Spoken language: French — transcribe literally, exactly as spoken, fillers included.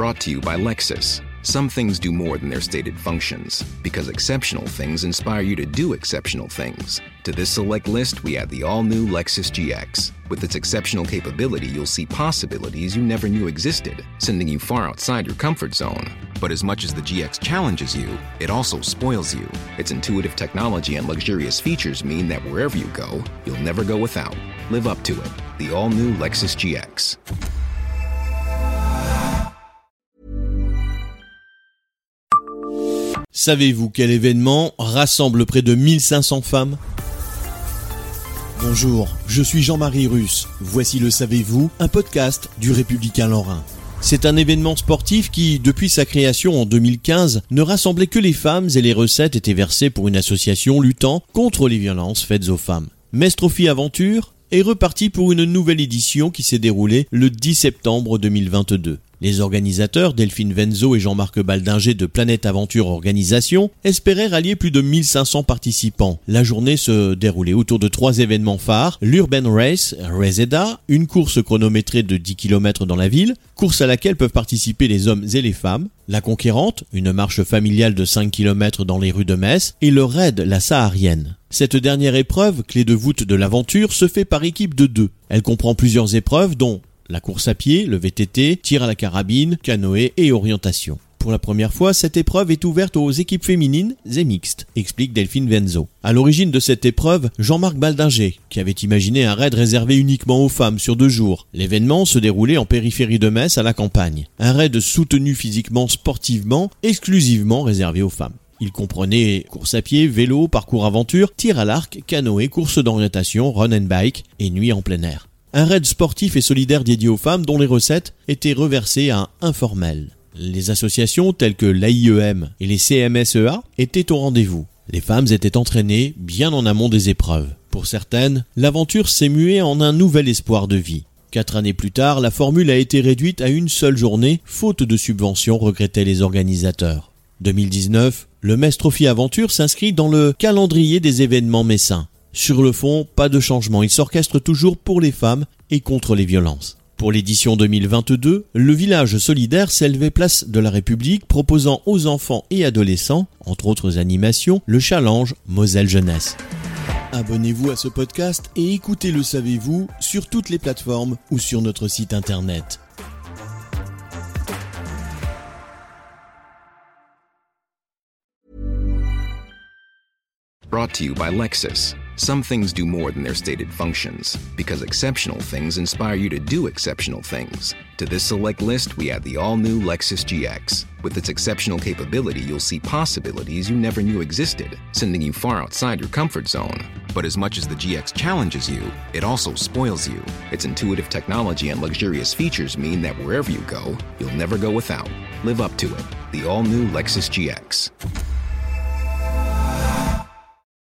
Brought to you by Lexus. Some things do more than their stated functions, because exceptional things inspire you to do exceptional things. To this select list, we add the all-new Lexus G X. With its exceptional capability, you'll see possibilities you never knew existed, sending you far outside your comfort zone. But as much as the G X challenges you, it also spoils you. Its intuitive technology and luxurious features mean that wherever you go, you'll never go without. Live up to it. The all-new Lexus G X. Savez-vous quel événement rassemble près de mille cinq cents femmes ? Bonjour, je suis Jean-Marie Russe. Voici le Savez-vous, un podcast du Républicain Lorrain. C'est un événement sportif qui, depuis sa création en deux mille quinze, ne rassemblait que les femmes et les recettes étaient versées pour une association luttant contre les violences faites aux femmes. Metz Trophy Aventure est reparti pour une nouvelle édition qui s'est déroulée le dix septembre deux mille vingt-deux. Les organisateurs, Delphine Venzo et Jean-Marc Baldinger de Planète Aventure Organisation, espéraient rallier plus de mille cinq cents participants. La journée se déroulait autour de trois événements phares, l'Urban Race, Reseda, une course chronométrée de dix kilomètres dans la ville, course à laquelle peuvent participer les hommes et les femmes, la Conquérante, une marche familiale de cinq kilomètres dans les rues de Metz, et le Raid, la Saharienne. Cette dernière épreuve, clé de voûte de l'aventure, se fait par équipe de deux. Elle comprend plusieurs épreuves dont la course à pied, le V T T, tir à la carabine, canoë et orientation. Pour la première fois, cette épreuve est ouverte aux équipes féminines et mixtes, explique Delphine Venzo. À l'origine de cette épreuve, Jean-Marc Baldinger, qui avait imaginé un raid réservé uniquement aux femmes sur deux jours. L'événement se déroulait en périphérie de Metz à la campagne. Un raid soutenu physiquement, sportivement, exclusivement réservé aux femmes. Il comprenait course à pied, vélo, parcours aventure, tir à l'arc, canoë, course d'orientation, run and bike et nuit en plein air. Un raid sportif et solidaire dédié aux femmes dont les recettes étaient reversées à Informel. Les associations telles que l'A I E M et les C M S E A étaient au rendez-vous. Les femmes étaient entraînées bien en amont des épreuves. Pour certaines, l'aventure s'est muée en un nouvel espoir de vie. Quatre années plus tard, la formule a été réduite à une seule journée, faute de subventions, regrettaient les organisateurs. deux mille dix-neuf, le Metz Trophy Aventure s'inscrit dans le calendrier des événements messins. Sur le fond, pas de changement, il s'orchestre toujours pour les femmes et contre les violences. Pour l'édition deux mille vingt-deux, le village solidaire s'élevait place de la République proposant aux enfants et adolescents, entre autres animations, le challenge Moselle Jeunesse. Abonnez-vous à ce podcast et écoutez Le Savez-vous sur toutes les plateformes ou sur notre site internet. Brought to you by Lexus. Some things do more than their stated functions, because exceptional things inspire you to do exceptional things. To this select list, we add the all-new Lexus G X. With its exceptional capability, you'll see possibilities you never knew existed, sending you far outside your comfort zone. But as much as the G X challenges you, it also spoils you. Its intuitive technology and luxurious features mean that wherever you go, you'll never go without. Live up to it. The all-new Lexus G X.